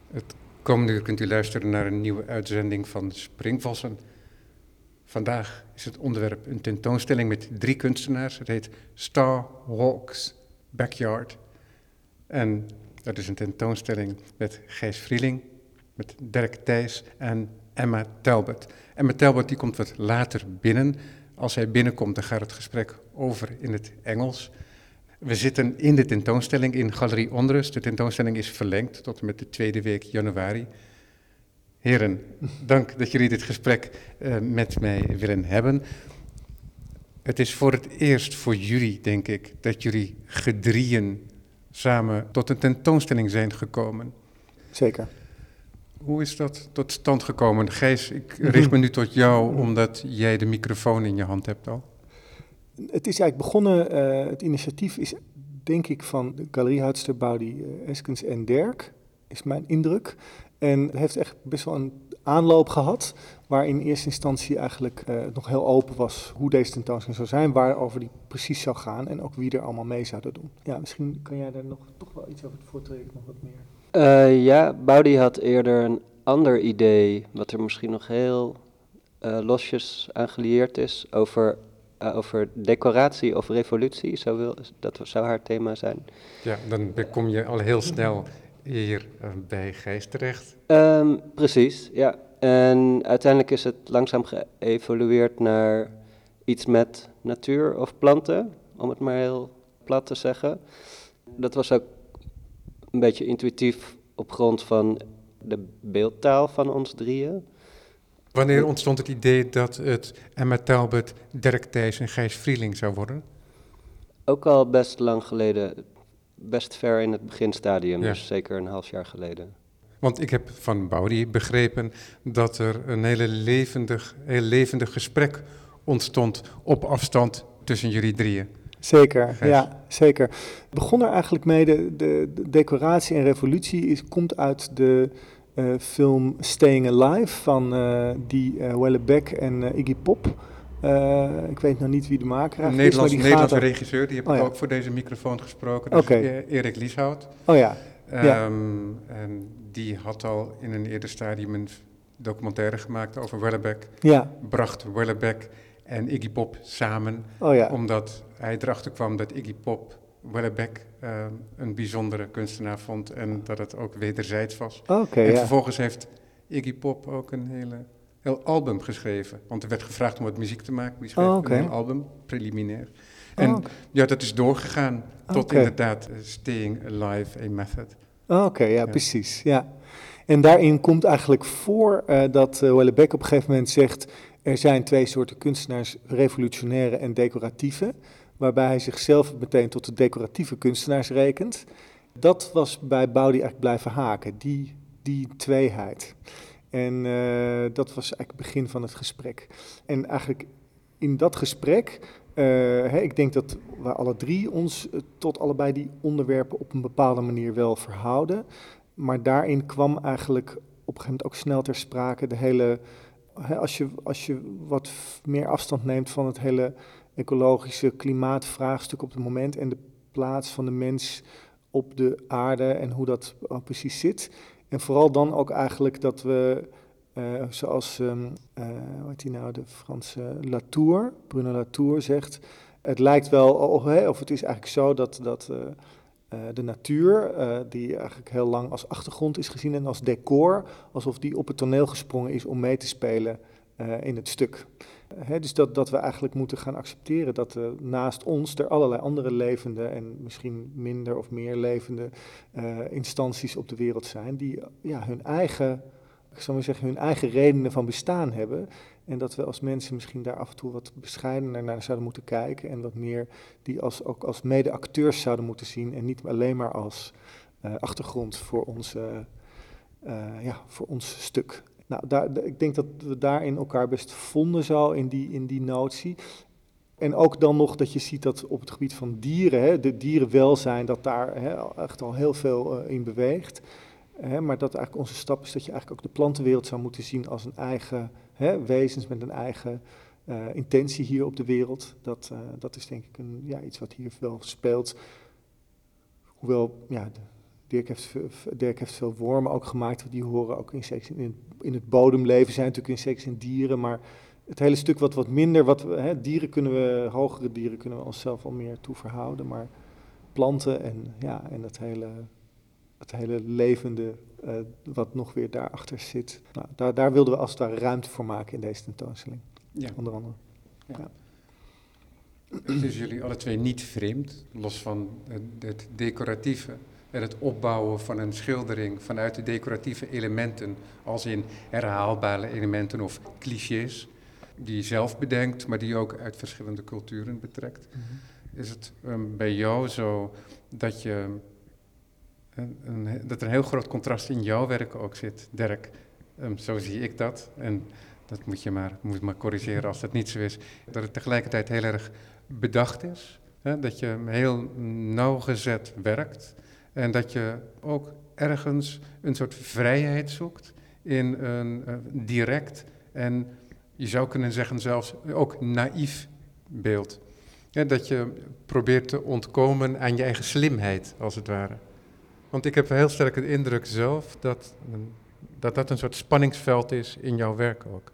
Het komende uur kunt u luisteren naar een nieuwe uitzending van Springvossen. Vandaag is het onderwerp een tentoonstelling met 3 kunstenaars. Het heet Star Walks Backyard. En dat is een tentoonstelling met Gijs Vrieling, met Dirk Thijs en Emma Talbot. Emma Talbot die komt wat later binnen. Als hij binnenkomt, dan gaat het gesprek over in het Engels. We zitten in de tentoonstelling in Galerie Onrust. De tentoonstelling is verlengd tot en met de tweede week januari. Heren, dank dat jullie dit gesprek met mij willen hebben. Het is voor het eerst voor jullie, denk ik, dat jullie gedrieën samen tot een tentoonstelling zijn gekomen. Zeker. Hoe is dat tot stand gekomen? Gijs, ik richt me nu tot jou, omdat jij de microfoon in je hand hebt al. Het is eigenlijk begonnen, het initiatief is denk ik van de galeriehoudster Boudi Eskens en Dirk, is mijn indruk. En het heeft echt best wel een aanloop gehad, waar in eerste instantie eigenlijk nog heel open was hoe deze tentoonstelling zou zijn, waarover die precies zou gaan en ook wie er allemaal mee zouden doen. Ja, misschien kan jij daar nog toch wel iets over het voortreden, nog wat meer. Ja, Boudi had eerder een ander idee, wat er misschien nog heel losjes aan gelieerd is, over decoratie of revolutie, dat zou haar thema zijn. Ja, dan kom je al heel snel hier bij Gijs terecht. Precies, ja. En uiteindelijk is het langzaam geëvolueerd naar iets met natuur of planten, om het maar heel plat te zeggen. Dat was ook een beetje intuïtief op grond van de beeldtaal van ons drieën. Wanneer ontstond het idee dat het Emma Talbot, Dirk Thijs en Gijs Vrieling zou worden? Ook al best lang geleden, best ver in het beginstadium, Ja. dus zeker een half jaar geleden. Want ik heb van Boudi begrepen dat er een heel levendig gesprek ontstond op afstand tussen jullie drieën. Zeker, Gijs. ja, zeker. Het begon er eigenlijk mee, de decoratie en revolutie komt uit de film Staying Alive van Wellebec en Iggy Pop. Ik weet nog niet wie de maker Een eigenlijk is, maar Nederlandse regisseur, die heb ik ja. ook voor deze microfoon gesproken. Dat is Erik Lieshout. Oh ja. En die had al in een eerder stadium een documentaire gemaakt over Wellebec. Ja. Bracht Wellebec en Iggy Pop samen, omdat hij erachter kwam dat Iggy Pop Wellebec een bijzondere kunstenaar vond en dat het ook wederzijds was. En vervolgens heeft Iggy Pop ook een heel album geschreven, want er werd gevraagd om wat muziek te maken. Die schreef een heel album, preliminair. En ja, dat is doorgegaan tot inderdaad Staying Alive, a Method. Precies, ja. En daarin komt eigenlijk voor dat Wellebec op een gegeven moment zegt, er zijn 2 soorten kunstenaars, revolutionaire en decoratieve, waarbij hij zichzelf meteen tot de decoratieve kunstenaars rekent. Dat was bij Boudi eigenlijk blijven haken, die tweeheid. En dat was eigenlijk het begin van het gesprek. En eigenlijk in dat gesprek, ik denk dat we alle 3 ons tot allebei die onderwerpen op een bepaalde manier wel verhouden. Maar daarin kwam eigenlijk op een gegeven moment ook snel ter sprake de hele, als je wat meer afstand neemt van het hele ecologische klimaatvraagstuk op het moment en de plaats van de mens op de aarde en hoe dat precies zit. En vooral dan ook eigenlijk dat we, zoals hoe heet die nou, de Franse Latour, Bruno Latour zegt, het lijkt wel, of het is eigenlijk zo dat de natuur, die eigenlijk heel lang als achtergrond is gezien en als decor, alsof die op het toneel gesprongen is om mee te spelen in het stuk. Dus dat we eigenlijk moeten gaan accepteren dat naast ons er allerlei andere levende en misschien minder of meer levende instanties op de wereld zijn die hun eigen, ik zou maar zeggen, hun eigen redenen van bestaan hebben. En dat we als mensen misschien daar af en toe wat bescheidener naar zouden moeten kijken en wat meer die ook als mede-acteurs zouden moeten zien en niet alleen maar als achtergrond voor ons stuk. Nou, ik denk dat we daarin elkaar best vonden zo in die notie. En ook dan nog dat je ziet dat op het gebied van dieren, de dierenwelzijn, dat daar echt al heel veel in beweegt. Maar dat eigenlijk onze stap is dat je eigenlijk ook de plantenwereld zou moeten zien als een eigen wezens met een eigen intentie hier op de wereld. Dat is denk ik iets wat hier wel speelt. Hoewel Dirk heeft veel wormen ook gemaakt, die horen ook in het bodemleven, zijn natuurlijk insecten in dieren, maar het hele stuk wat minder, hogere dieren kunnen we onszelf al meer toe verhouden, maar planten en het hele levende wat nog weer daarachter zit. Nou, daar wilden we als het ware ruimte voor maken in deze tentoonstelling, onder andere. Ja. Het is jullie alle twee niet vreemd, los van het decoratieve en het opbouwen van een schildering vanuit de decoratieve elementen, als in herhaalbare elementen of clichés, die je zelf bedenkt, maar die je ook uit verschillende culturen betrekt. Mm-hmm. Is het bij jou zo dat dat er een heel groot contrast in jouw werk ook zit, Dirk? Zo zie ik dat. En dat moet je maar corrigeren als dat niet zo is. Dat het tegelijkertijd heel erg bedacht is. Hè? Dat je heel nauwgezet werkt. En dat je ook ergens een soort vrijheid zoekt in een direct en je zou kunnen zeggen zelfs ook naïef beeld. Ja, dat je probeert te ontkomen aan je eigen slimheid, als het ware. Want ik heb heel sterk de indruk zelf dat een soort spanningsveld is in jouw werk ook.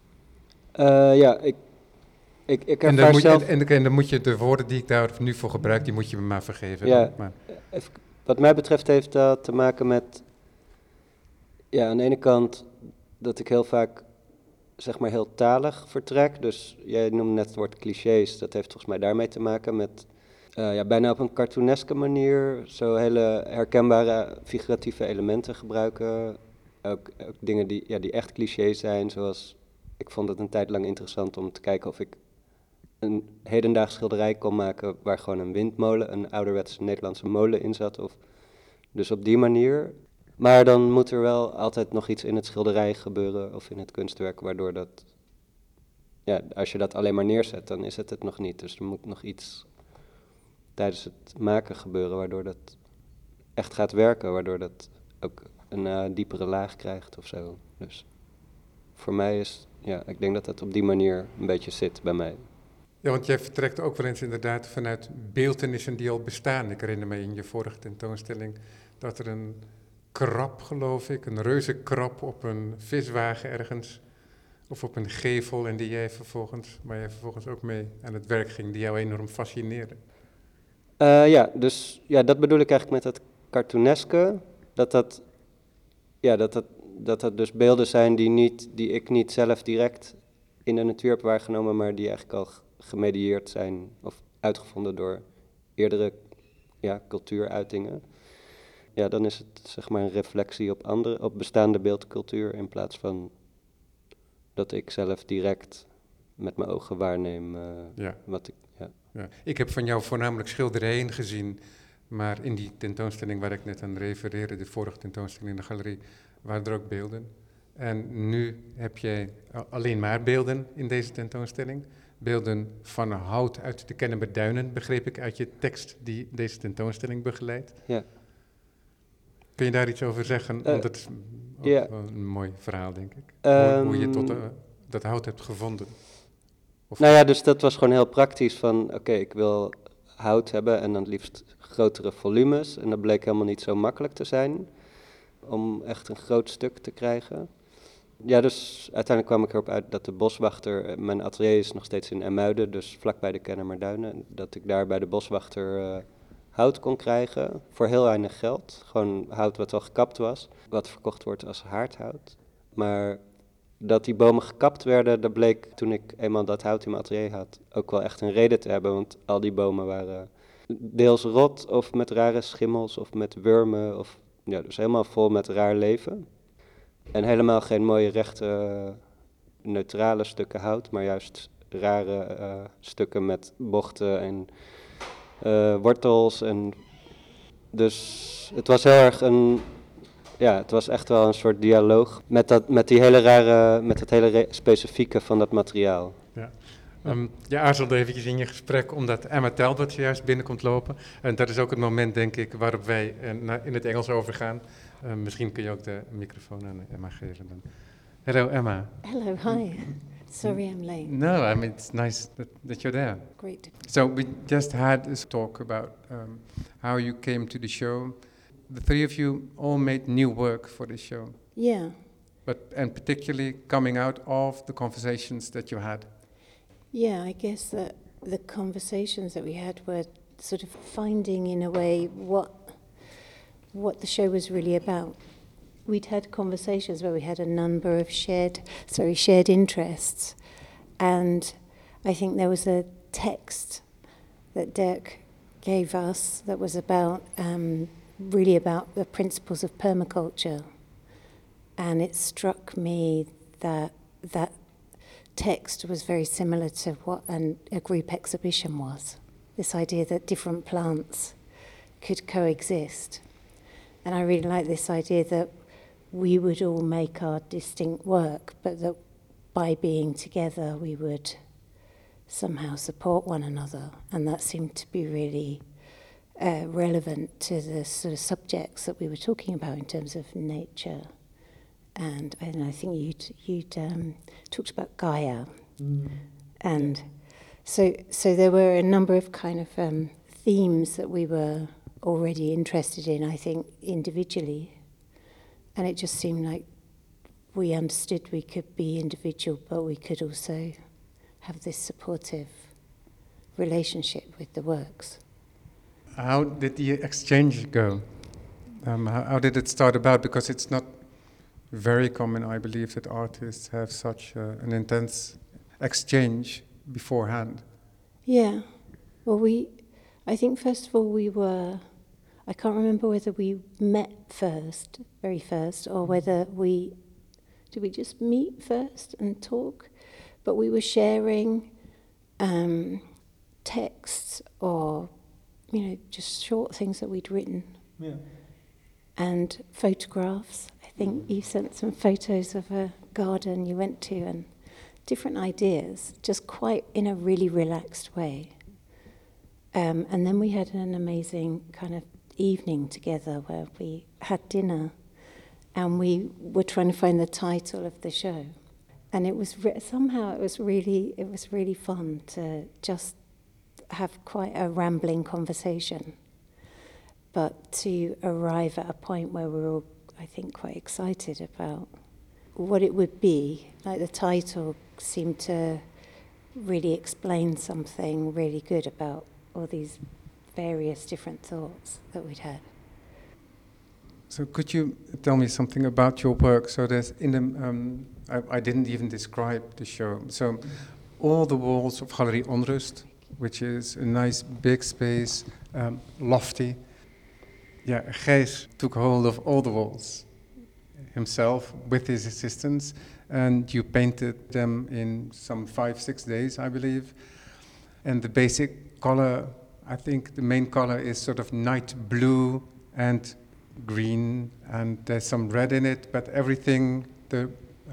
Ik ervaar zelf... En dan moet je de woorden die ik daar nu voor gebruik, die moet je me maar vergeven. Ja, wat mij betreft heeft dat te maken met... Ja, aan de ene kant dat ik heel vaak, zeg maar, heel talig vertrek. Dus jij noemde net het woord clichés, dat heeft volgens mij daarmee te maken met... bijna op een cartooneske manier zo hele herkenbare figuratieve elementen gebruiken. Ook dingen die echt clichés zijn, zoals... Ik vond het een tijd lang interessant om te kijken of ik een hedendaags schilderij kon maken waar gewoon een windmolen, een ouderwetse Nederlandse molen in zat. Dus op die manier. Maar dan moet er wel altijd nog iets in het schilderij gebeuren of in het kunstwerk, waardoor dat... Ja, als je dat alleen maar neerzet, dan is het nog niet. Dus er moet nog iets tijdens het maken gebeuren, waardoor dat echt gaat werken, waardoor dat ook een diepere laag krijgt of zo. Dus voor mij is... Ja, ik denk dat het op die manier een beetje zit bij mij. Ja, want jij vertrekt ook wel eens inderdaad vanuit beeltenissen die al bestaan. Ik herinner me in je vorige tentoonstelling dat er een krab, geloof ik, een reuzenkrab op een viswagen ergens, of op een gevel, en waar jij vervolgens ook mee aan het werk ging, die jou enorm fascineerde. Dus dat bedoel ik eigenlijk met het cartooneske, dat dus beelden zijn die ik niet zelf direct in de natuur heb waargenomen, maar die eigenlijk al gemedieerd zijn of uitgevonden door eerdere cultuuruitingen. Ja, dan is het, zeg maar, een reflectie op bestaande beeldcultuur in plaats van dat ik zelf direct met mijn ogen waarneem wat ik... Ja. Ja. Ik heb van jou voornamelijk schilderijen gezien, maar in die tentoonstelling waar ik net aan refereerde, de vorige tentoonstelling in de galerie, waren er ook beelden. En nu heb jij alleen maar beelden in deze tentoonstelling. Beelden van hout uit de Kennemer Duinen, begreep ik uit je tekst die deze tentoonstelling begeleidt. Ja. Kun je daar iets over zeggen? Want het is ook wel een mooi verhaal, denk ik. Hoe je tot dat hout hebt gevonden. Dus dat was gewoon heel praktisch van, oké, ik wil hout hebben en dan het liefst grotere volumes. En dat bleek helemaal niet zo makkelijk te zijn om echt een groot stuk te krijgen. Ja, dus uiteindelijk kwam ik erop uit dat de boswachter, mijn atelier is nog steeds in Ermuiden, dus vlakbij de Kennemer Duinen, dat ik daar bij de boswachter hout kon krijgen voor heel weinig geld. Gewoon hout wat al gekapt was, wat verkocht wordt als haardhout. Maar dat die bomen gekapt werden, dat bleek toen ik eenmaal dat hout in mijn atelier had ook wel echt een reden te hebben, want al die bomen waren deels rot of met rare schimmels of met wormen of... Ja, dus helemaal vol met raar leven. En helemaal geen mooie rechte, neutrale stukken hout, maar juist rare stukken met bochten en wortels. En dus het was heel erg het was echt wel een soort dialoog met het hele specifieke van dat materiaal. Ja. Je aarzelde eventjes in je gesprek omdat Emma Talbot juist binnenkomt lopen. En dat is ook het moment, denk ik, waarop wij in het Engels overgaan. Misschien kun je ook de microfoon aan Emma geven dan. Hello, Emma. Hello, hi. Sorry I'm late. No, I mean, it's nice that you're there. Great. So we just had this talk about how you came to the show. the three of you all made new work for this show, Yeah. and particularly coming out of the conversations that you had. Yeah, I guess that the conversations that we had were sort of finding in a way what the show was really about. We'd had conversations where we had a number of shared interests, and I think there was a text that Dirk gave us that was about really about the principles of permaculture, and it struck me that that text was very similar to what a group exhibition was. This idea that different plants could coexist. And I really like this idea that we would all make our distinct work, but that by being together we would somehow support one another. And that seemed to be really relevant to the sort of subjects that we were talking about in terms of nature. And I think you'd talked about Gaia. And so there were a number of kind of themes that we were already interested in, I think, individually. And it just seemed like we understood we could be individual, but we could also have this supportive relationship with the works. How did the exchange go? How did it start about? Because it's not very common, I believe, that artists have such an intense exchange beforehand. Yeah. Well, I think first of all I can't remember whether we met very first, or whether did we just meet first and talk? But we were sharing texts or, just short things that we'd written. Yeah. And photographs. I think you sent some photos of a garden you went to and different ideas, just quite in a really relaxed way. And then we had an amazing kind of evening together where we had dinner and we were trying to find the title of the show. And it was somehow it was really fun to just have quite a rambling conversation, but to arrive at a point where we're all, I think, quite excited about what it would be. Like the title seemed to really explain something really good about all these various different thoughts that we'd had. So could you tell me something about your work? So there's I didn't even describe the show. So all the walls of Galerie Onrust, which is a nice big space, lofty. Yeah, Gijs took hold of all the walls himself with his assistants, and you painted them in some 5-6 days, I believe. And the basic color, I think the main color is sort of night blue and green, and there's some red in it, but everything, the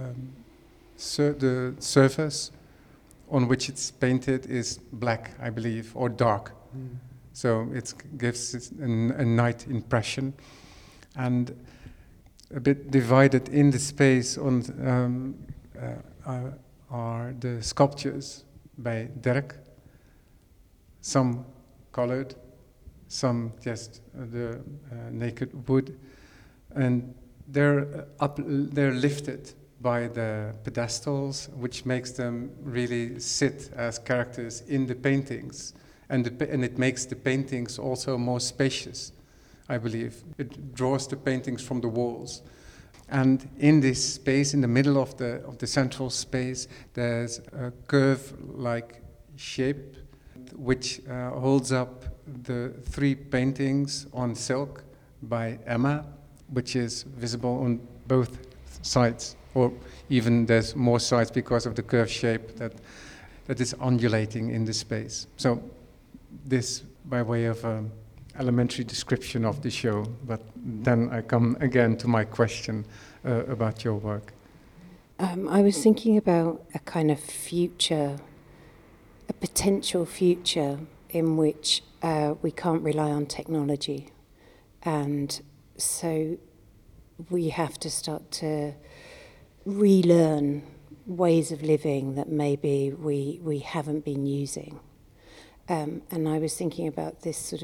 surface on which it's painted is black, I believe, or dark. So it gives it a night impression. And a bit divided in the space on are the sculptures by Dirk. Some colored, some just the naked wood, and they're lifted by the pedestals, which makes them really sit as characters in the paintings, and it makes the paintings also more spacious, I believe. It draws the paintings from the walls. And in this space, in the middle of the central space, there's a curve-like shape which holds up the 3 paintings on silk by Emma, which is visible on both sides, or even there's more sides because of the curved shape that is undulating in the space. So this by way of elementary description of the show, but then I come again to my question about your work. I was thinking about a kind of future, a potential future in which we can't rely on technology. And so we have to start to relearn ways of living that maybe we haven't been using. And I was thinking about this sort of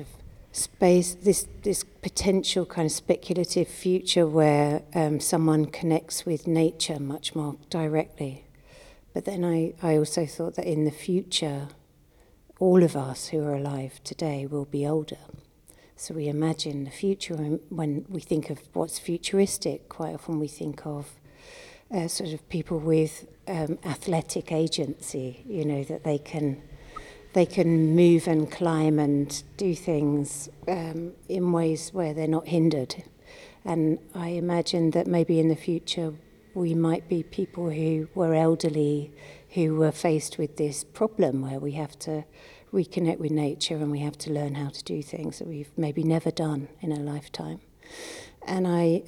space, this potential kind of speculative future where someone connects with nature much more directly. But then I also thought that in the future, all of us who are alive today will be older. So we imagine the future, and when we think of what's futuristic, quite often we think of sort of people with athletic agency, you know, that they can move and climb and do things in ways where they're not hindered. And I imagine that maybe in the future we might be people who were elderly, who were faced with this problem where we have to reconnect with nature and we have to learn how to do things that we've maybe never done in a lifetime. And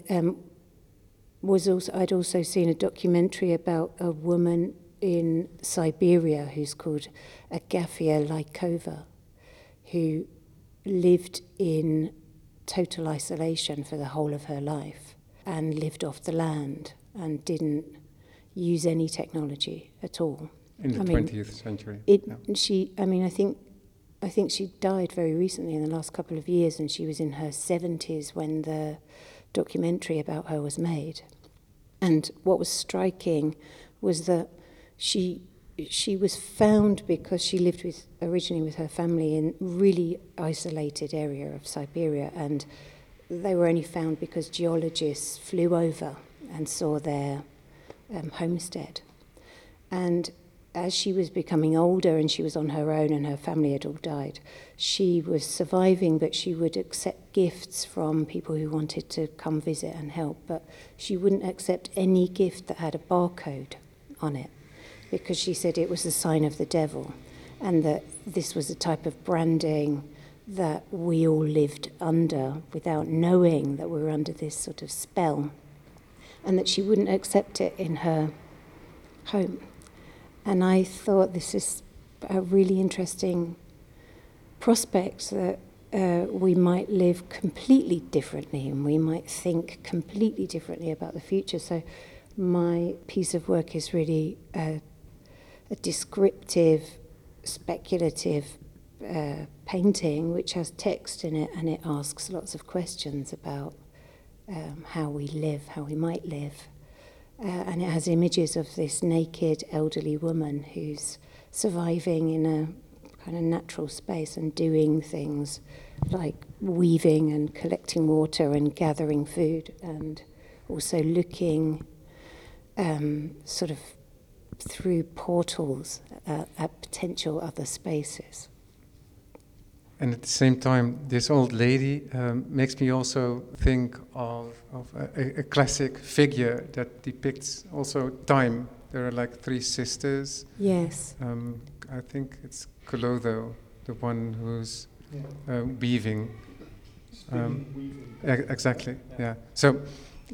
I'd also seen a documentary about a woman in Siberia who's called Agafia Lykova, who lived in total isolation for the whole of her life and lived off the land and didn't use any technology at all. In the 20th century. I think she died very recently in the last couple of years, and she was in her 70s when the documentary about her was made. And what was striking was that she was found because she lived originally with her family in really isolated area of Siberia, and they were only found because geologists flew over and saw their homestead. And as she was becoming older and she was on her own and her family had all died, she was surviving, but she would accept gifts from people who wanted to come visit and help, but she wouldn't accept any gift that had a barcode on it because she said it was a sign of the devil and that this was a type of branding that we all lived under without knowing that we were under this sort of spell, and that she wouldn't accept it in her home. And I thought this is a really interesting prospect that we might live completely differently and we might think completely differently about the future. So my piece of work is really a descriptive, speculative painting which has text in it, and it asks lots of questions about how we live, how we might live. And it has images of this naked elderly woman who's surviving in a kind of natural space and doing things like weaving and collecting water and gathering food, and also looking sort of through portals at potential other spaces. And at the same time, this old lady makes me also think of a classic figure that depicts also time. There are like three sisters. Yes. I think it's Clotho, the one who's weaving. Weaving. Exactly. Yeah. So,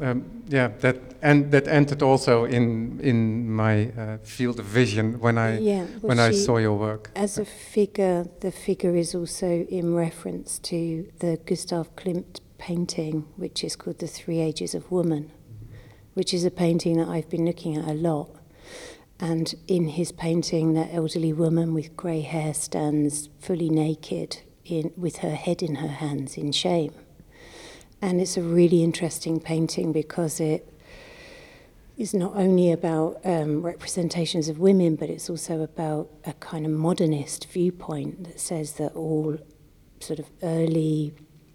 that entered also in my field of vision when I saw your work. As a figure, the figure is also in reference to the Gustav Klimt painting, which is called The Three Ages of Woman, which is a painting that I've been looking at a lot. And in his painting, that elderly woman with grey hair stands fully naked with her head in her hands in shame. And it's a really interesting painting because it is not only about representations of women, but it's also about a kind of modernist viewpoint that says that all sort of early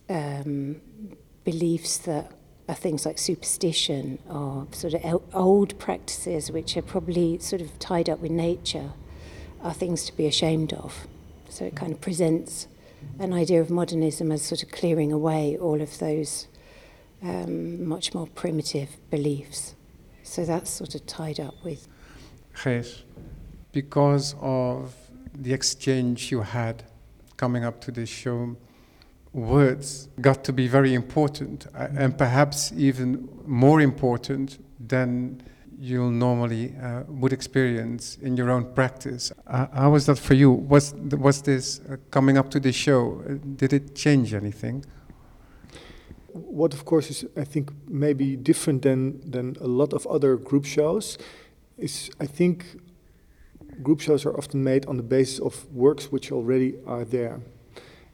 beliefs that are things like superstition or sort of old practices which are probably sort of tied up with nature are things to be ashamed of. So it kind of presents an idea of modernism as sort of clearing away all of those much more primitive beliefs. So that's sort of tied up with. Gijs, because of the exchange you had coming up to this show, words got to be very important, and perhaps even more important than you normally would experience in your own practice. How was that for you? Was this coming up to this show, did it change anything? What, of course, is, I think, maybe different than a lot of other group shows is, I think, group shows are often made on the basis of works which already are there.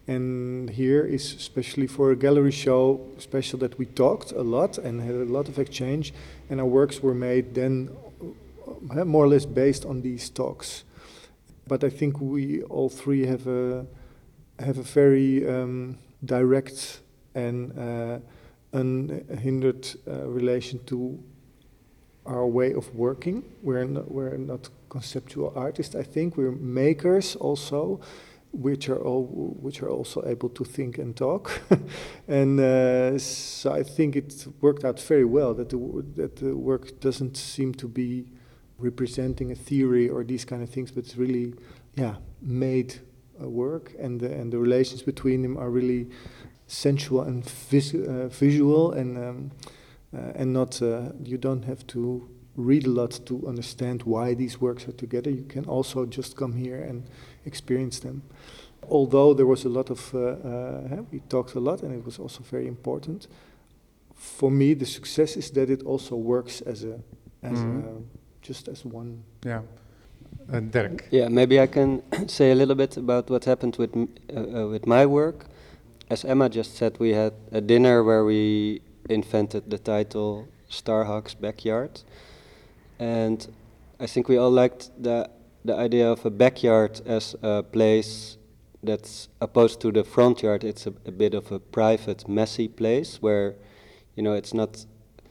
And here is especially for a gallery show special that we talked a lot and had a lot of exchange, and our works were made then more or less based on these talks. But I think we all three have a very direct and unhindered relation to our way of working. We're not conceptual artists. I think we're makers also, which are also able to think and talk. And so I think it worked out very well that the work doesn't seem to be representing a theory or these kind of things, but it's really made a work, and the relations between them are really sensual and visual, and not you don't have to read a lot to understand why these works are together. You can also just come here and experience them. Although there was a lot of we talked a lot, and it was also very important for me. The success is that it also works as just as one. Yeah. Dirk. Yeah, maybe I can say a little bit about what happened with my work. As Emma just said, we had a dinner where we invented the title Starhawk's Backyard, and I think we all liked the idea of a backyard as a place that's opposed to the front yard. It's a bit of a private, messy place where, it's not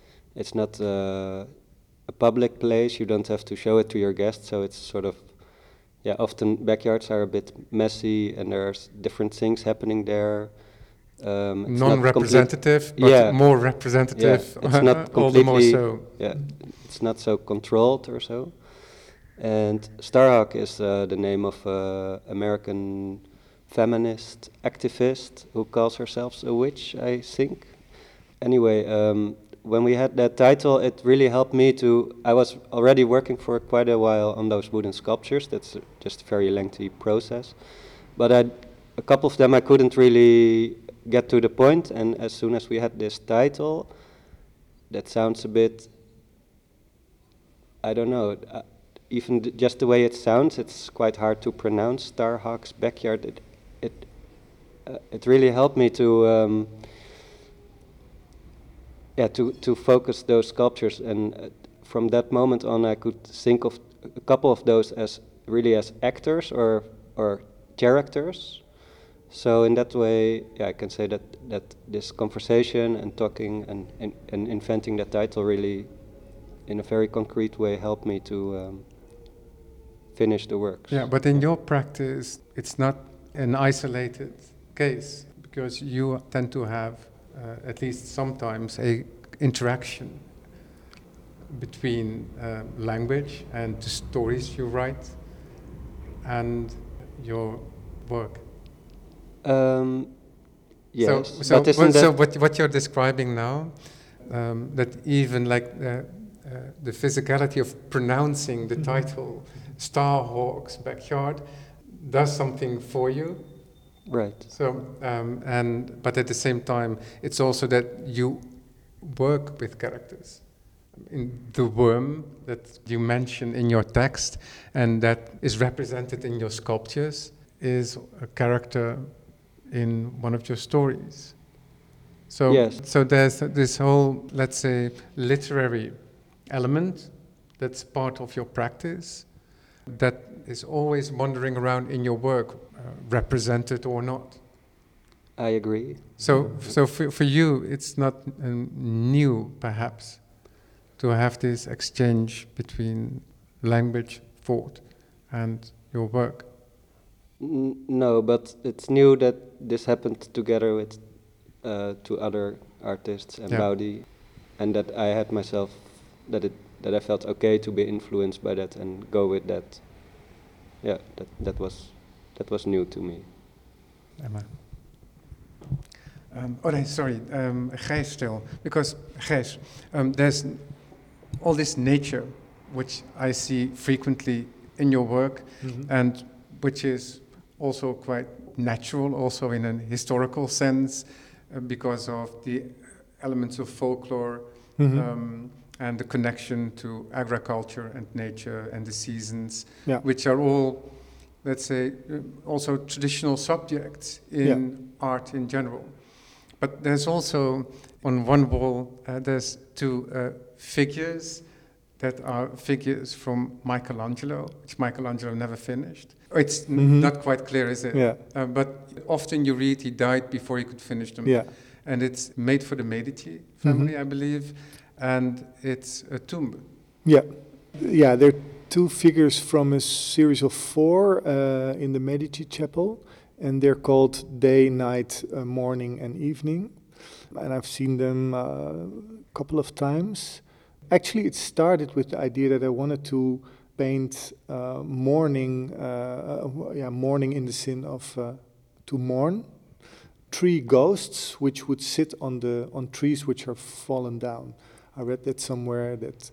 a public place. You don't have to show it to your guests, so it's sort of, often backyards are a bit messy and there's different things happening there. Non-representative, but more representative. Yeah, it's not completely, all the more so. Yeah, it's not so controlled or so. And Starhawk is the name of an American feminist activist who calls herself a witch, I think. Anyway, when we had that title, it really helped me I was already working for quite a while on those wooden sculptures. That's just a very lengthy process. But a couple of them I couldn't really get to the point, and as soon as we had this title, that sounds a bit, I don't know, even just the way it sounds, it's quite hard to pronounce, Starhawk's Backyard. It really helped me to focus those sculptures, and from that moment on I could think of a couple of those as really as actors or characters. So in that way, I can say that this conversation and talking and inventing that title really, in a very concrete way, helped me to finish the works. Yeah, but in your practice, it's not an isolated case, because you tend to have, at least sometimes, a interaction between language and the stories you write and your work. Yes. So what you're describing now, that even like the physicality of pronouncing the title Starhawk's Backyard does something for you. Right. So but at the same time, it's also that you work with characters. In the worm that you mention in your text and that is represented in your sculptures is a character in one of your stories. So, yes. So there's this whole, let's say, literary element that's part of your practice that is always wandering around in your work, represented or not. I agree. So for you, it's not new, perhaps, to have this exchange between language, thought, and your work. No, but it's new that this happened together with two other artists and Baudi, and that I had myself that I felt okay to be influenced by that and go with that. Yeah, that was new to me. Emma. Gijs still, because Gijs, there's all this nature which I see frequently in your work, and which is also quite natural, also in a historical sense, because of the elements of folklore and the connection to agriculture and nature and the seasons, which are all let's say, also traditional subjects in art in general. But there's also, on one wall, there's two figures that are figures from Michelangelo, which Michelangelo never finished. It's not quite clear, is it? Yeah. But often you read he died before he could finish them. Yeah. And it's made for the Medici family, I believe, and it's a tomb. Yeah. Yeah, there are two figures from a series of 4 in the Medici chapel, and they're called day, night, morning, and evening. And I've seen them a couple of times. Actually, it started with the idea that I wanted to paint mourning, mourning in the sin of to mourn, 3 ghosts which would sit on trees which are fallen down. I read that somewhere that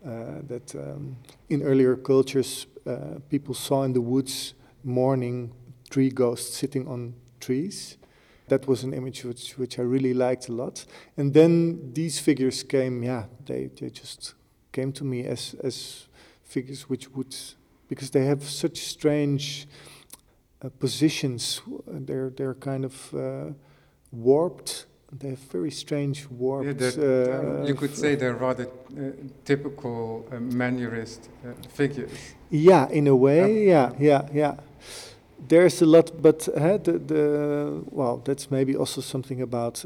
in earlier cultures people saw in the woods mourning 3 ghosts sitting on trees. That was an image which I really liked a lot. And then these figures came, they just came to me as figures which would, because they have such strange positions. They're kind of warped. They have very strange warped. You could say they're rather typical Mannerist figures. Yeah, in a way, yeah. There's a lot, but that's maybe also something about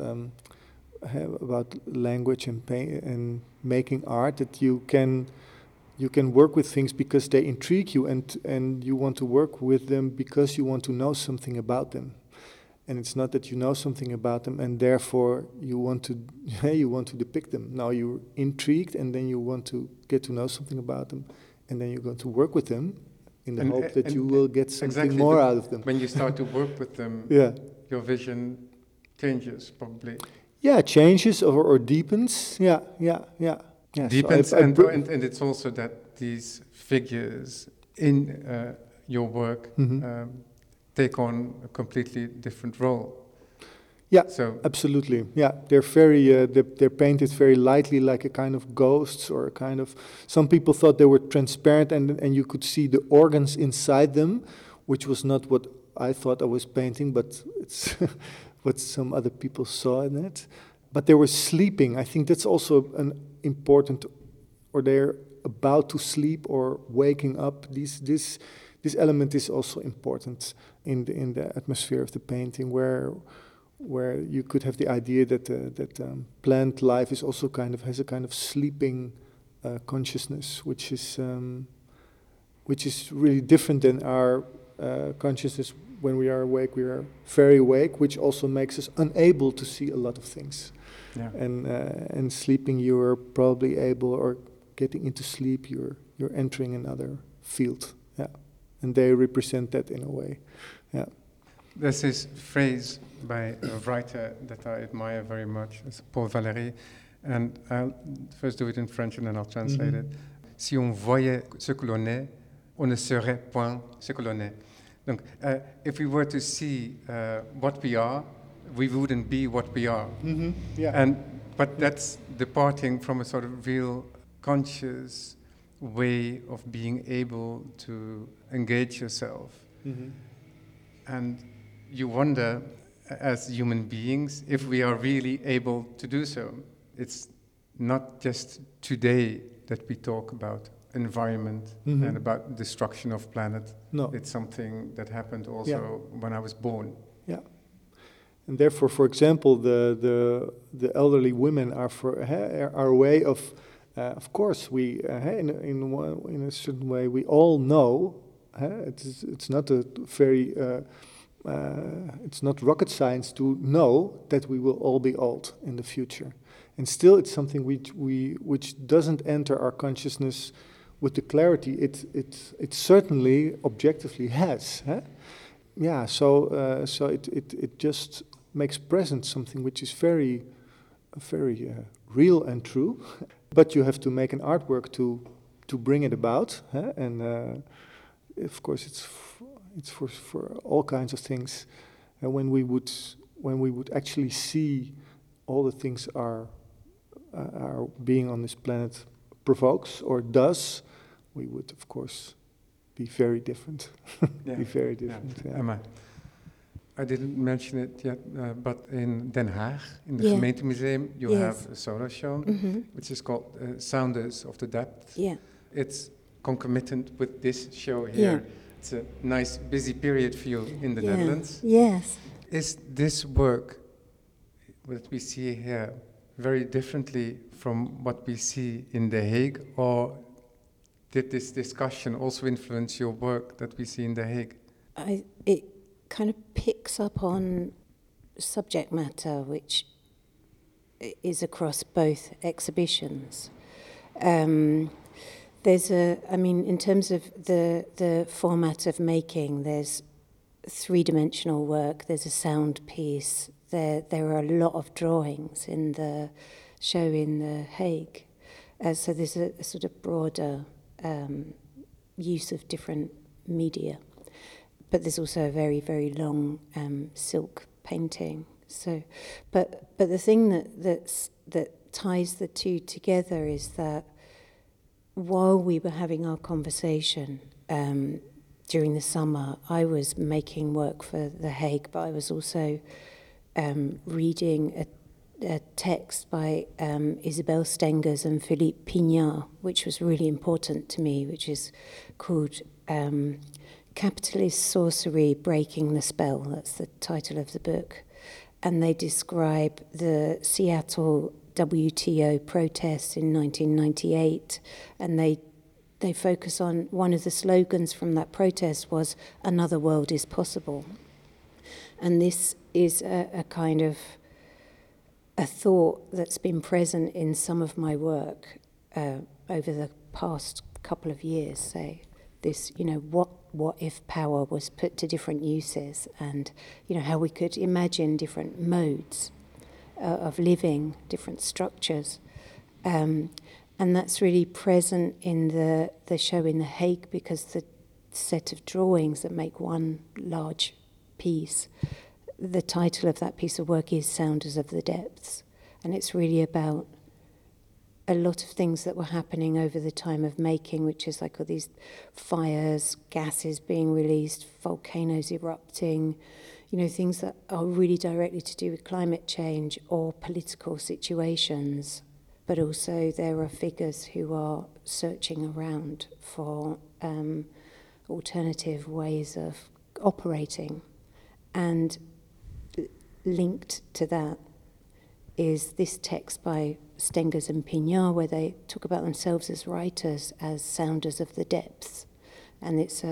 language and making art, that you can work with things because they intrigue you, and you want to work with them because you want to know something about them. And it's not that you know something about them and therefore you want to depict them. Now you're intrigued, and then you want to get to know something about them, and then you're going to work with them in the hope that you will get something more out of them. When you start to work with them, your vision changes probably. Yeah, changes or deepens. Yeah. Deepens, so and it's also that these figures in your work take on a completely different role. Yeah, so absolutely. Yeah, they're very they're painted very lightly, like a kind of ghosts, or a kind of. Some people thought they were transparent, and you could see the organs inside them, which was not what I thought I was painting, but it's what some other people saw in it. But they were sleeping. I think that's also an important, or they're about to sleep or waking up. This element is also important in the atmosphere of the painting, where you could have the idea that plant life is also has a kind of sleeping consciousness, which is really different than our consciousness when we are awake. We are very awake, which also makes us unable to see a lot of things. Yeah. And sleeping, you are probably able, or getting into sleep, you're entering another field. Yeah, and they represent that in a way. Yeah. There's this phrase by a writer that I admire very much, it's Paul Valéry, and I'll first do it in French and then I'll translate it. Si on voyait ce que l'on est, on ne serait point ce que l'on est. Donc, if we were to see what we are, we wouldn't be what we are. Yeah. But that's departing from a sort of real conscious way of being able to engage yourself. And you wonder, as human beings, if we are really able to do so. It's not just today that we talk about environment and about destruction of planet. No. It's something that happened also when I was born. Yeah. And therefore, for example, the elderly women are a way of course, we in a certain way we all know. It's not a very it's not rocket science to know that we will all be old in the future, and still it's something which doesn't enter our consciousness with the clarity it certainly objectively has. Yeah, so it just makes present something which is very real and true, but you have to make an artwork to bring it about, and of course it's for all kinds of things. And when we would actually see all the things our being on this planet provokes or does, we would of course be very different. Be very different. Yeah. Emma, I didn't mention it yet, but in Den Haag, in the Yeah. Gemeentemuseum, you Yes. have a solo show, which is called Sounders of the Depth. Yeah. It's concomitant with this show here. Yeah. It's a nice, busy period for you in the Yeah. Netherlands. Yes. Is this work that we see here very differently from what we see in The Hague, or did this discussion also influence your work that we see in The Hague? It kind of picks up on subject matter which is across both exhibitions. In terms of the format of making, there's three-dimensional work, there's a sound piece, there are a lot of drawings in the show in The Hague. So there's a sort of broader use of different media. But there's also a very, very long silk painting. So, but the thing that ties the two together is that while we were having our conversation during the summer, I was making work for The Hague, but I was also reading a text by Isabelle Stengers and Philippe Pignard, which was really important to me, which is called Capitalist Sorcery Breaking the Spell. That's the title of the book. And they describe the Seattle WTO protests in 1998, and they focus on one of the slogans from that protest was "Another world is possible." And this is a kind of a thought that's been present in some of my work over the past couple of years, say. This, what if power was put to different uses, and, how we could imagine different modes of living, different structures. And that's really present in the show in The Hague, because the set of drawings that make one large piece, the title of that piece of work is Sounders of the Depths. And it's really about a lot of things that were happening over the time of making, which is like all these fires, gases being released, volcanoes erupting, things that are really directly to do with climate change or political situations. But also there are figures who are searching around for alternative ways of operating. And linked to that is this text by Stengers and Pignard, where they talk about themselves as writers, as sounders of the depths. And it's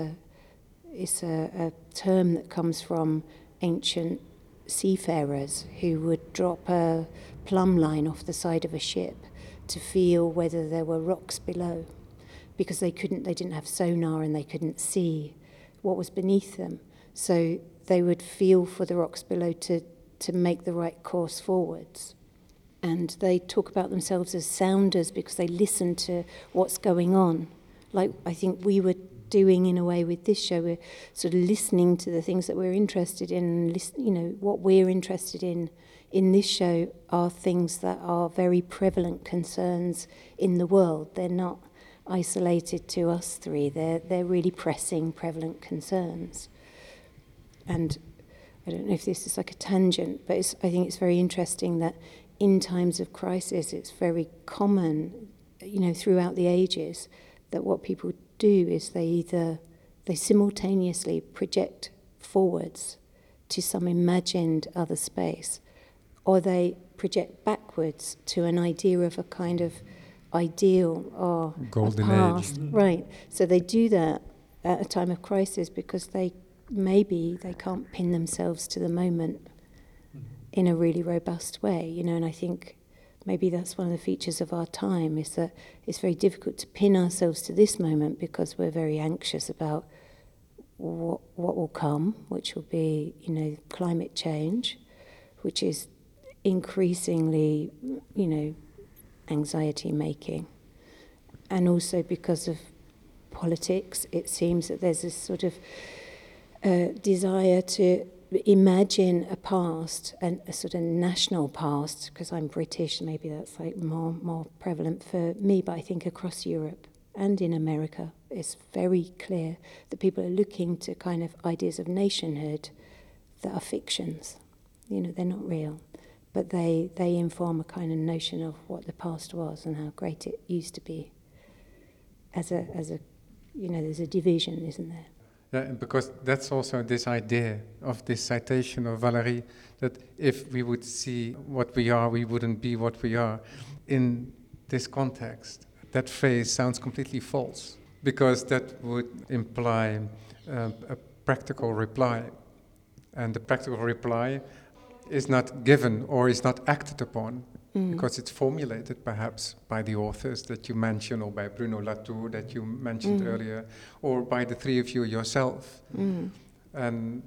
a term that comes from ancient seafarers who would drop a plumb line off the side of a ship to feel whether there were rocks below, because they didn't have sonar and they couldn't see what was beneath them. So they would feel for the rocks below to make the right course forwards. And they talk about themselves as sounders because they listen to what's going on. Like I think we were doing in a way with this show, we're sort of listening to the things that we're interested in, what we're interested in this show are things that are very prevalent concerns in the world. They're not isolated to us three, they're really pressing, prevalent concerns. And I don't know if this is like a tangent, but I think it's very interesting that in times of crisis, it's very common, throughout the ages, that what people do is they simultaneously project forwards to some imagined other space, or they project backwards to an idea of a kind of ideal or Golden a past. age. Right. So they do that at a time of crisis because maybe they can't pin themselves to the moment in a really robust way, and I think maybe that's one of the features of our time, is that it's very difficult to pin ourselves to this moment because we're very anxious about what will come, which will be, climate change, which is increasingly, anxiety making. And also because of politics, it seems that there's this sort of desire to imagine a past, and a sort of national past, because I'm British, maybe that's like more prevalent for me, but I think across Europe and in America it's very clear that people are looking to kind of ideas of nationhood that are fictions. You know, they're not real, but they inform a kind of notion of what the past was and how great it used to be. As a you know, there's a division, isn't there? Yeah, and because that's also this idea of this citation of Valéry, that if we would see what we are, we wouldn't be what we are. In this context, that phrase sounds completely false, because that would imply a practical reply. And the practical reply is not given or is not acted upon, because it's formulated perhaps by the authors that you mentioned, or by Bruno Latour that you mentioned earlier, or by the three of you yourself, and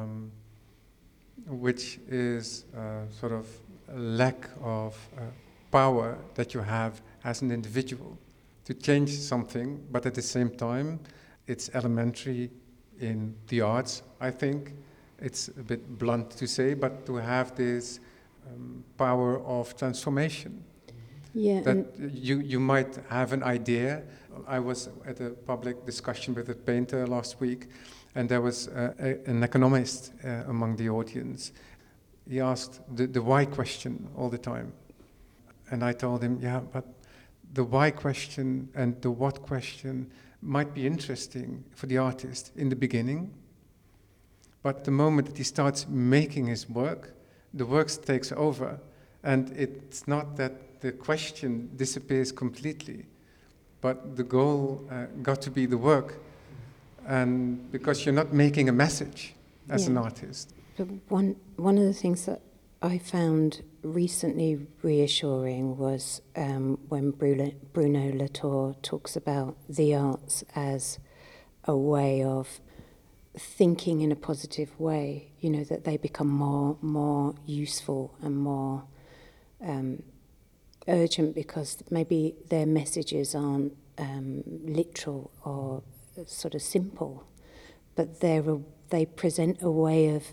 which is sort of a lack of power that you have as an individual to change something, but at the same time, it's elementary in the arts, I think. It's a bit blunt to say, but to have this power of transformation. Yeah. That you might have an idea. I was at a public discussion with a painter last week, and there was an economist among the audience. He asked the why question all the time. And I told him, yeah, but the why question and the what question might be interesting for the artist in the beginning, but the moment that he starts making his work, the work takes over, and it's not that the question disappears completely, but the goal got to be the work, and because you're not making a message as an artist. But one of the things that I found recently reassuring was when Bruno Latour talks about the arts as a way of thinking in a positive way, you know, that they become more useful and more urgent because maybe their messages aren't literal or sort of simple, but they present a way of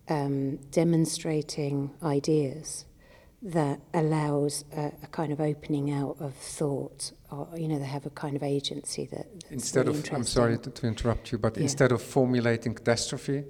demonstrating ideas that allows a kind of opening out of thought, or, you know, they have a kind of agency that's instead really of, I'm sorry to interrupt you, but instead of formulating catastrophe,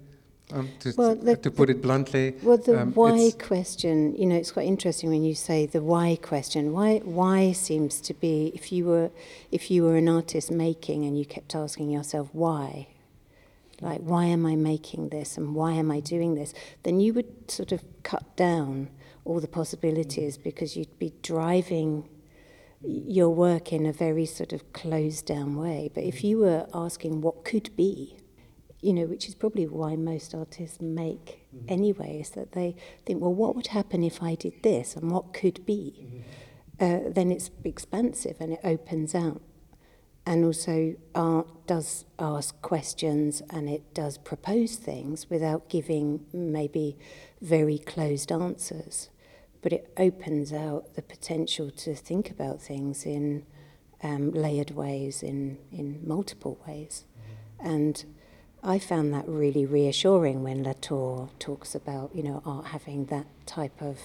to put it bluntly. Well, the why question, you know, it's quite interesting when you say the why question. Why seems to be, if you were an artist making and you kept asking yourself why, like, why am I making this and why am I doing this, then you would sort of cut down all the possibilities, because you'd be driving your work in a very sort of closed down way. But if you were asking what could be, you know, which is probably why most artists make anyway, is that they think, well, what would happen if I did this and what could be? Then it's expansive and it opens out. And also art does ask questions and it does propose things without giving maybe very closed answers. But it opens out the potential to think about things in layered ways, in multiple ways. And I found that really reassuring when Latour talks about, you know, art having that type of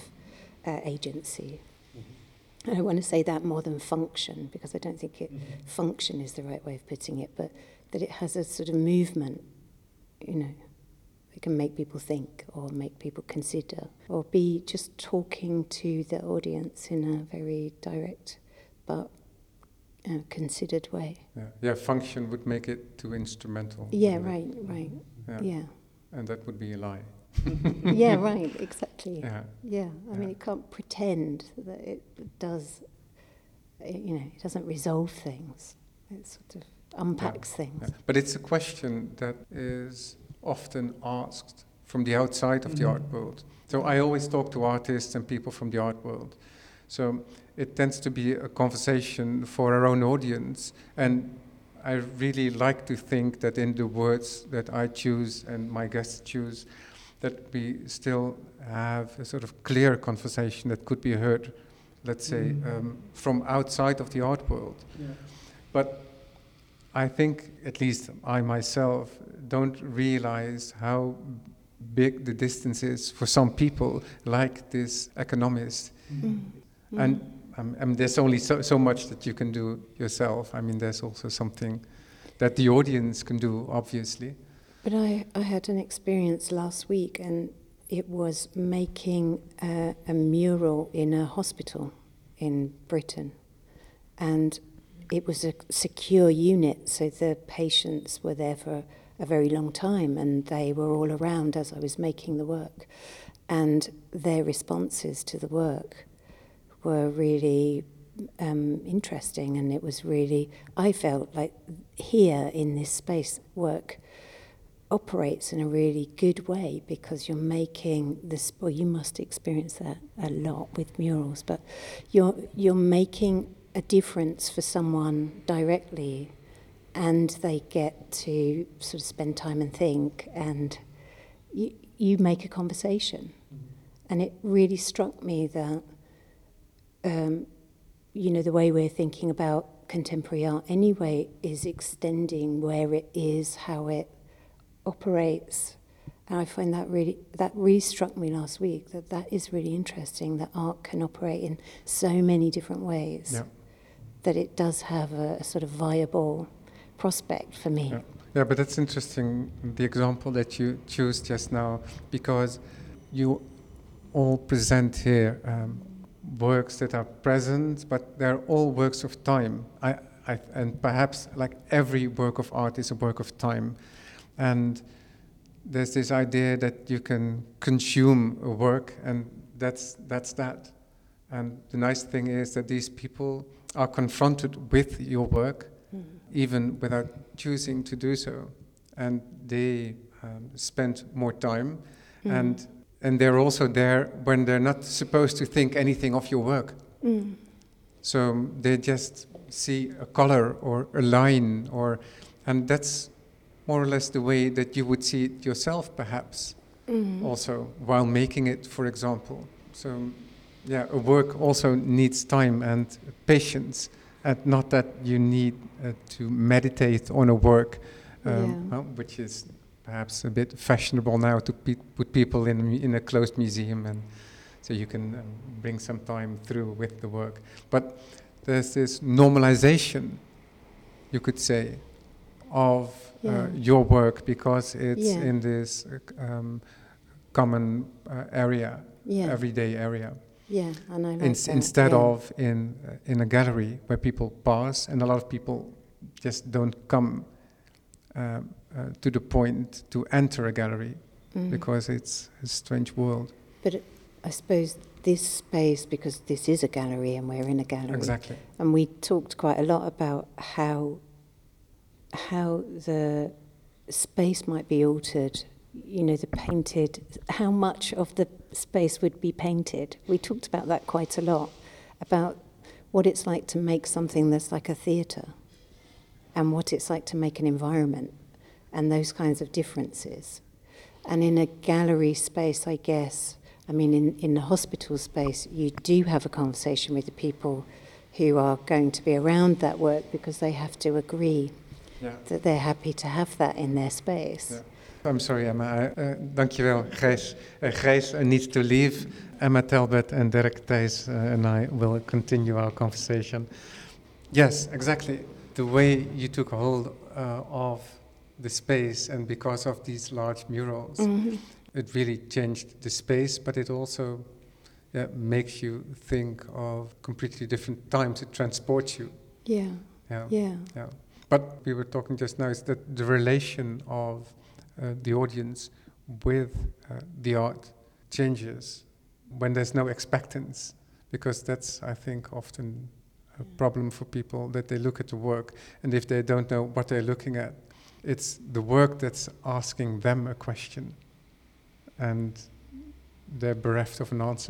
agency. I don't want to say that more than function, because I don't think function is the right way of putting it, but that it has a sort of movement, you know, it can make people think or make people consider or be just talking to the audience in a very direct but considered way. Yeah, function would make it too instrumental. Yeah, right. Yeah. And that would be a lie. Yeah, right, exactly. Yeah. I mean, it can't pretend that it does, you know, it doesn't resolve things. It sort of unpacks things. Yeah. But it's a question that is often asked from the outside of the art world. So I always talk to artists and people from the art world. So it tends to be a conversation for our own audience. And I really like to think that in the words that I choose and my guests choose, that we still have a sort of clear conversation that could be heard, let's say, from outside of the art world. Yeah. But I think, at least I myself, don't realize how big the distance is for some people, like this economist. And there's only so much that you can do yourself. I mean, there's also something that the audience can do, obviously. But I had an experience last week, and it was making a mural in a hospital in Britain. And it was a secure unit, so the patients were there for a very long time, and they were all around as I was making the work. And their responses to the work were really interesting, and it was really, I felt like here in this space, work operates in a really good way, because you're making this, well, you must experience that a lot with murals, but you're making a difference for someone directly, and they get to sort of spend time and think, and you make a conversation. And it really struck me that, the way we're thinking about contemporary art anyway is extending where it is, how it operates. And I find that really struck me last week, that is really interesting, that art can operate in so many different ways. Yeah. That it does have a sort of viable prospect for me. Yeah, but that's interesting, the example that you choose just now, because you all present here works that are present, but they're all works of time. And perhaps like every work of art is a work of time. And there's this idea that you can consume a work, and that's that. And the nice thing is that these people are confronted with your work, even without choosing to do so. And they spend more time, and they're also there when they're not supposed to think anything of your work. So they just see a color or a line, and that's more or less the way that you would see it yourself, perhaps, also, while making it, for example. So, yeah, a work also needs time and patience, and not that you need to meditate on a work, which is perhaps a bit fashionable now to put people in a closed museum, and so you can bring some time through with the work. But there's this normalization, you could say, of your work, because it's in this common area, everyday area. Yeah, and I like that. Instead of in a gallery where people pass, and a lot of people just don't come to the point to enter a gallery, because it's a strange world. But I suppose this space, because this is a gallery and we're in a gallery. Exactly. And we talked quite a lot about how the space might be altered, the painted, how much of the space would be painted. We talked about that quite a lot, about what it's like to make something that's like a theatre, and what it's like to make an environment, and those kinds of differences. And in a gallery space, I guess, in the hospital space, you do have a conversation with the people who are going to be around that work, because they have to agree that they're happy to have that in their space. Yeah. I'm sorry, Emma. Dankjewel, Gijs. Gijs needs to leave. Emma Talbot and Derek Thijs and I will continue our conversation. Yes, exactly. The way you took hold of the space, and because of these large murals, it really changed the space, but it also makes you think of completely different times. It transports you. Yeah. But we were talking just now, is that the relation of the audience with the art changes when there's no expectance, because that's, I think, often a problem for people, that they look at the work, and if they don't know what they're looking at, it's the work that's asking them a question, and they're bereft of an answer.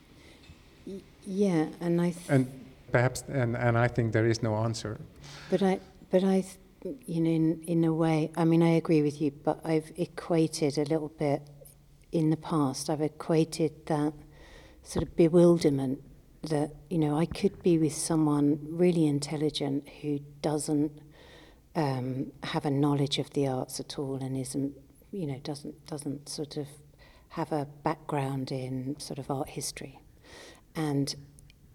Yeah, and I think there is no answer. But I in a way, I agree with you, but I've equated a little bit in the past. I've equated that sort of bewilderment that, I could be with someone really intelligent who doesn't have a knowledge of the arts at all, and isn't, doesn't sort of have a background in sort of art history. And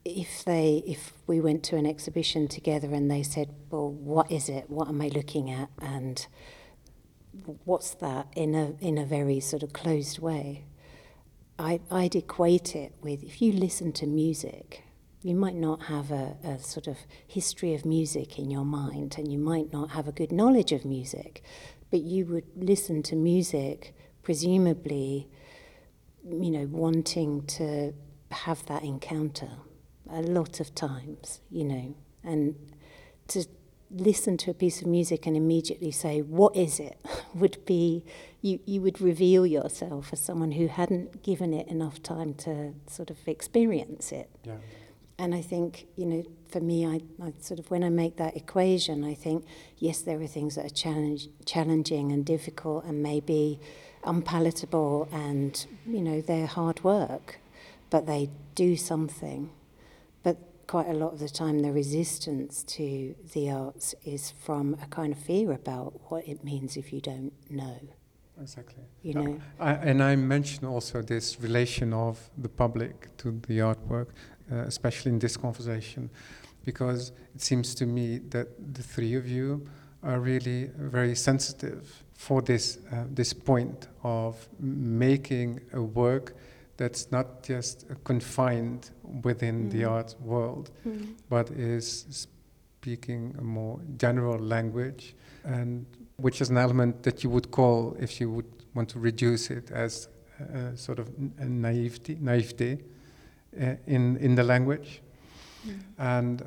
if we went to an exhibition together and they said, well, what is it? What am I looking at? And what's that in a very sort of closed way? I'd equate it with, if you listen to music, you might not have a sort of history of music in your mind, and you might not have a good knowledge of music, but you would listen to music presumably, you know, wanting to have that encounter a lot of times, you know, and to listen to a piece of music and immediately say, what is it, would be, you would reveal yourself as someone who hadn't given it enough time to sort of experience it. Yeah. And I think, you know, for me, I sort of, when I make that equation, I think, yes, there are things that are challenging and difficult and maybe unpalatable and, you know, they're hard work, but they do something. But quite a lot of the time, the resistance to the arts is from a kind of fear about what it means if you don't know. Exactly. You know? And I mentioned also this relation of the public to the artwork, especially in this conversation, because it seems to me that the three of you are really very sensitive for this point of making a work that's not just confined within the art world, but is speaking a more general language, and which is an element that you would call, if you would want to reduce it, as sort of a naivete in the language. And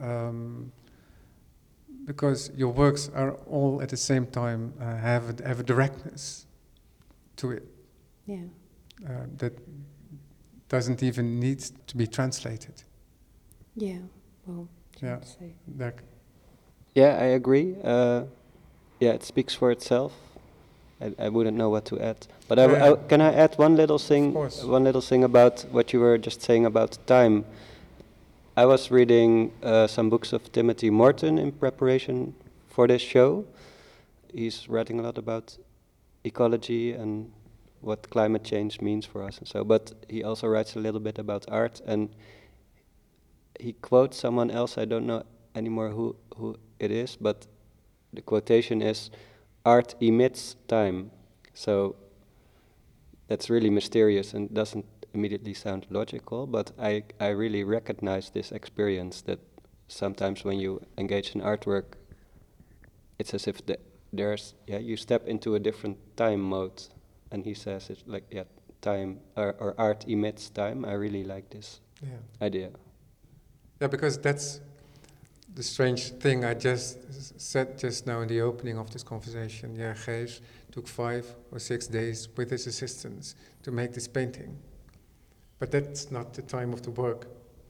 because your works are all at the same time have a directness to it that doesn't even need to be translated. Yeah, well, Yeah. Yeah, I agree. Yeah, it speaks for itself. I wouldn't know what to add. But can I add one little thing? Of course. One little thing about what you were just saying about time. I was reading some books of Timothy Morton in preparation for this show. He's writing a lot about ecology and what climate change means for us and so. But he also writes a little bit about art, and he quotes someone else. I don't know anymore who it is, but the quotation is, "Art emits time." So that's really mysterious and doesn't immediately sound logical, but I really recognize this experience that sometimes when you engage in artwork, it's as if you step into a different time mode. And he says it's like, time, or art emits time. I really like this idea. Yeah, because that's the strange thing I just said just now in the opening of this conversation. Yeah, Gijs took 5 or 6 days with his assistants to make this painting. But that's not the time of the work.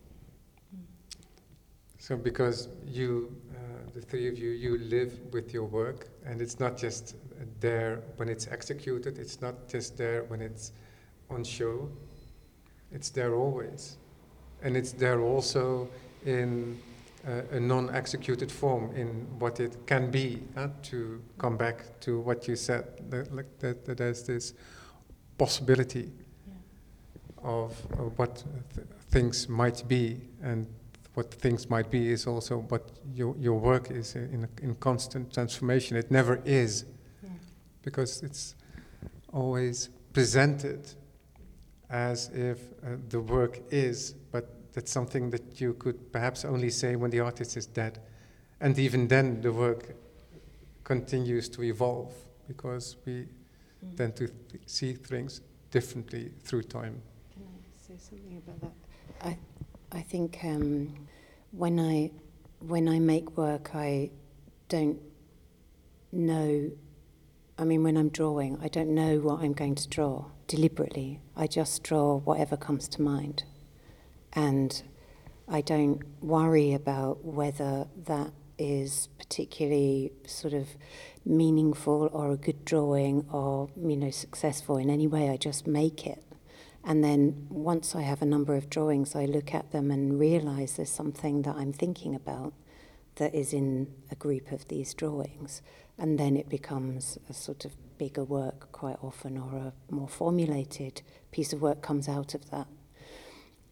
So because you, the three of you, you live with your work, and it's not just there when it's executed, it's not just there when it's on show, it's there always. And it's there also in a non-executed form, in what it can be, to come back to what you said, that there's this possibility of what things might be, and what things might be is also what your work is in constant transformation. It never is, because it's always presented as if the work is, but that's something that you could perhaps only say when the artist is dead. And even then the work continues to evolve, because we tend to see things differently through time. Can I say something about that? I think when I make work, I don't know. I mean, when I'm drawing, I don't know what I'm going to draw deliberately. I just draw whatever comes to mind, and I don't worry about whether that is particularly sort of meaningful or a good drawing or, you know, successful in any way. I just make it. And then once I have a number of drawings, I look at them and realize there's something that I'm thinking about that is in a group of these drawings. And then it becomes a sort of bigger work quite often, or a more formulated piece of work comes out of that.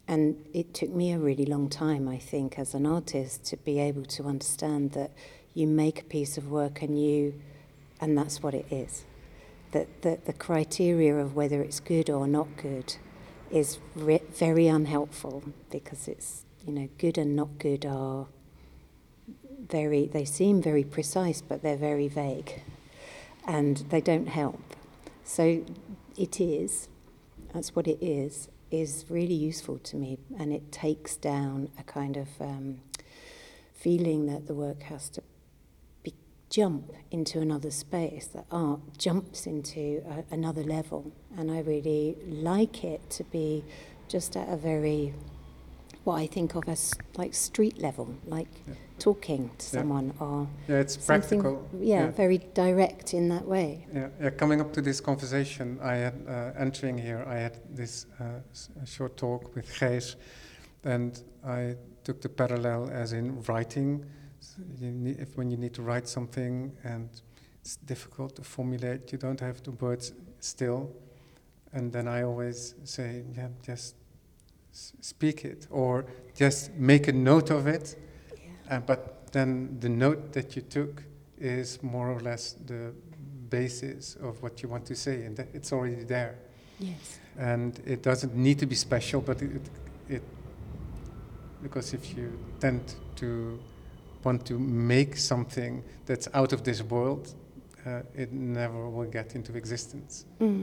And it took me a really long time, I think, as an artist, to be able to understand that you make a piece of work and that's what it is. That the criteria of whether it's good or not good is very unhelpful, because it's, good and not good are they seem very precise, but they're very vague, and they don't help. So that's what it is really useful to me, and it takes down a kind of feeling that the work has to jump into another space, that art jumps into another level, and I really like it to be just at a very, what I think of as like street level, like talking to someone, or it's practical. Very direct in that way. Coming up to this conversation, I had entering here, I had this short talk with Gijs, and I took the parallel as in writing. When you need to write something and it's difficult to formulate, you don't have the words still, and then I always say, just speak it, or just make a note of it. But then the note that you took is more or less the basis of what you want to say, and it's already there. Yes. And it doesn't need to be special, but it because if you tend to want to make something that's out of this world, it never will get into existence.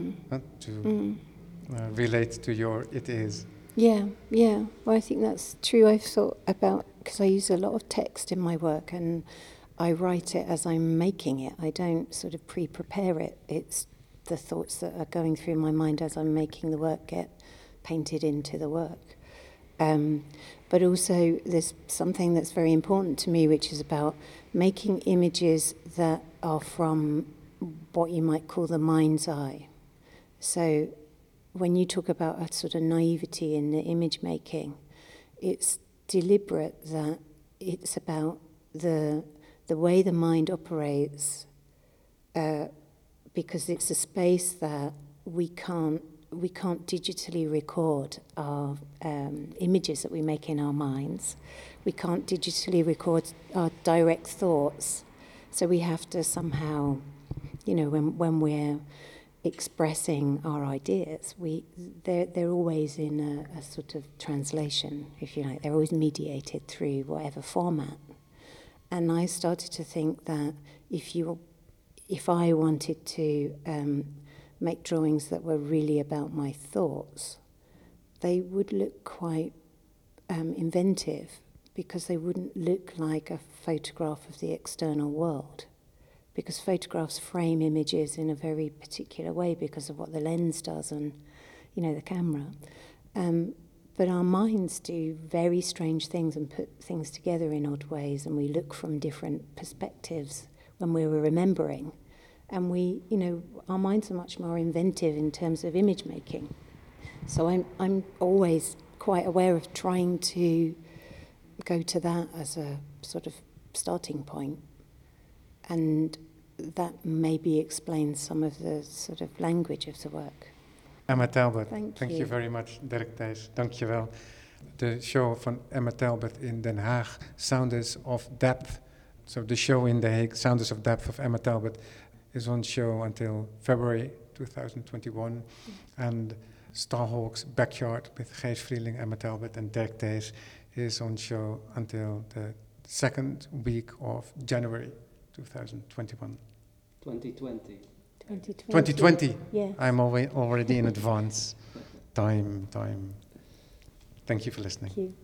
Relate to your it is. Yeah. Well, I think that's true. I've thought about, because I use a lot of text in my work, and I write it as I'm making it. I don't sort of pre-prepare it. It's the thoughts that are going through my mind as I'm making the work get painted into the work. But also there's something that's very important to me, which is about making images that are from what you might call the mind's eye. So when you talk about a sort of naivety in the image making, it's deliberate, that it's about the way the mind operates, because it's a space that we can't digitally record our images that we make in our minds. We can't digitally record our direct thoughts. So we have to somehow, when we're expressing our ideas, they're always in a sort of translation, if you like. They're always mediated through whatever format. And I started to think that if I wanted to make drawings that were really about my thoughts, they would look quite inventive, because they wouldn't look like a photograph of the external world, because photographs frame images in a very particular way because of what the lens does and, the camera. But our minds do very strange things and put things together in odd ways, and we look from different perspectives when we were remembering. And our minds are much more inventive in terms of image making. So I'm always quite aware of trying to go to that as a sort of starting point. And that maybe explains some of the sort of language of the work. Emma Talbot, Thank you you very much. Dirk Thijs, dank je wel. De show van Emma Talbot in Den Haag, Sounds of Depth. So the show in The Hague, Sounds of Depth of Emma Talbot, is on show until February 2021. And Starhawk's Backyard with Gijs Vrieling, Emma Talbot and Dirk Thijs is on show until the second week of January 2021. 2020. 2020. Yes. I'm already in advance. Time. Thank you for listening. Thank you.